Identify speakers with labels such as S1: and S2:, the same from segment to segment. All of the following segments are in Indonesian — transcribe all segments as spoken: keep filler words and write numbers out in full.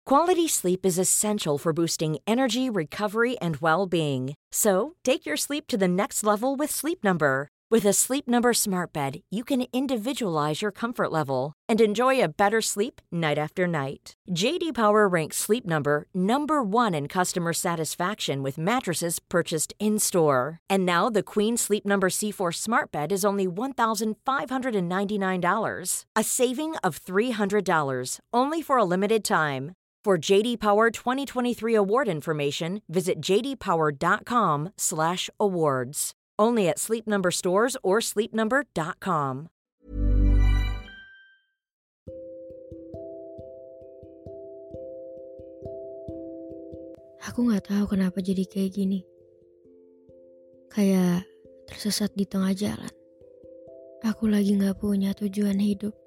S1: Quality sleep is essential for boosting energy, recovery, and well-being. So, take your sleep to the next level with Sleep Number. With a Sleep Number smart bed, you can individualize your comfort level and enjoy a better sleep night after night. J D Power ranks Sleep Number number one in customer satisfaction with mattresses purchased in-store. And now the Queen Sleep Number C four smart bed is only one thousand five hundred ninety-nine dollars, a saving of three hundred dollars, only for a limited time. For J D Power twenty twenty-three award information, visit j d power dot com slash awards. Only at Sleep Number stores or sleep number dot com.
S2: Aku gak tahu kenapa jadi kayak gini. Kayak tersesat di tengah jalan. Aku lagi gak punya tujuan hidup.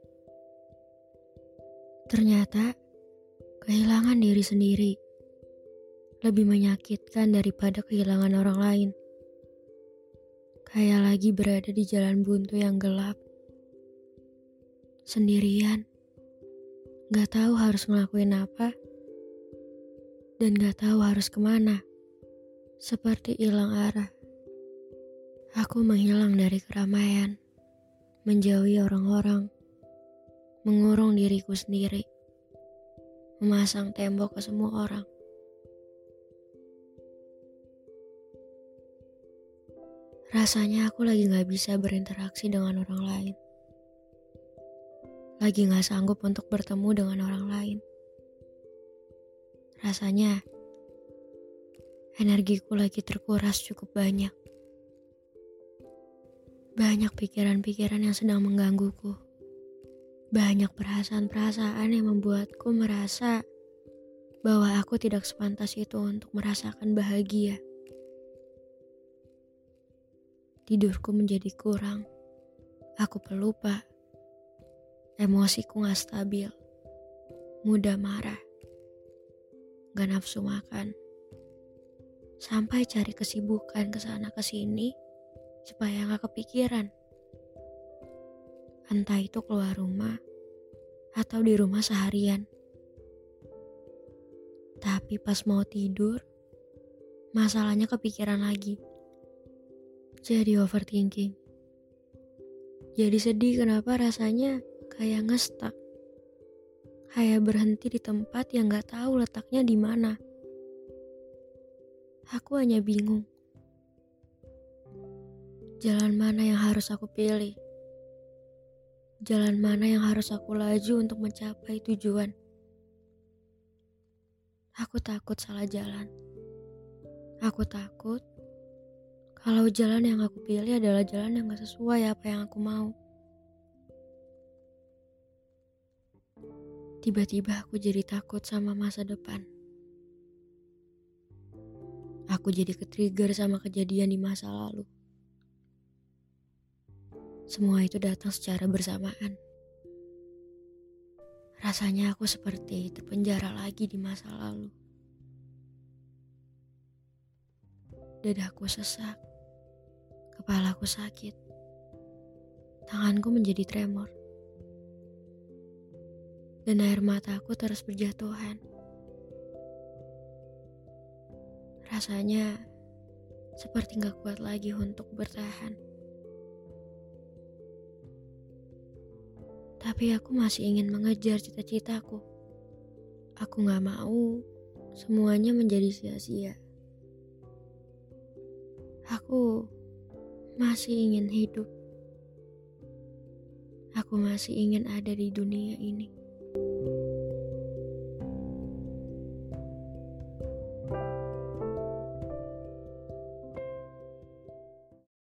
S2: Ternyata kehilangan diri sendiri lebih menyakitkan daripada kehilangan orang lain. Kayak lagi berada di jalan buntu yang gelap. Sendirian. Gak tahu harus ngelakuin apa. Dan gak tahu harus kemana. Seperti hilang arah. Aku menghilang dari keramaian. Menjauhi orang-orang. Mengurung diriku sendiri. Memasang tembok ke semua orang. Rasanya aku lagi gak bisa berinteraksi dengan orang lain. Lagi gak sanggup untuk bertemu dengan orang lain. Rasanya energiku lagi terkuras cukup banyak. Banyak pikiran-pikiran yang sedang menggangguku. Banyak perasaan-perasaan yang membuatku merasa bahwa aku tidak sepantas itu untuk merasakan bahagia. Tidurku menjadi kurang. Aku pelupa. Emosiku gak stabil. Mudah marah. Gak nafsu makan. Sampai cari kesibukan kesana kesini supaya gak kepikiran. Entah itu keluar rumah atau di rumah seharian. Tapi pas mau tidur, masalahnya kepikiran lagi. Jadi overthinking. Jadi sedih kenapa rasanya kayak nge-stuck. Kayak berhenti di tempat yang gak tahu letaknya di mana. Aku hanya bingung. Jalan mana yang harus aku pilih? Jalan mana yang harus aku laju untuk mencapai tujuan? Aku takut salah jalan. Aku takut kalau jalan yang aku pilih adalah jalan yang gak sesuai apa yang aku mau. Tiba-tiba aku jadi takut sama masa depan. Aku jadi ke-trigger sama kejadian di masa lalu. Semua itu datang secara bersamaan. Rasanya aku seperti terpenjara lagi di masa lalu. Dadaku sesak. Kepalaku sakit. Tanganku menjadi tremor. Dan air mataku terus berjatuhan. Rasanya seperti gak kuat lagi untuk bertahan. Tapi aku masih ingin mengejar cita-citaku. Aku gak mau semuanya menjadi sia-sia. Aku masih ingin hidup. Aku masih ingin ada di dunia ini.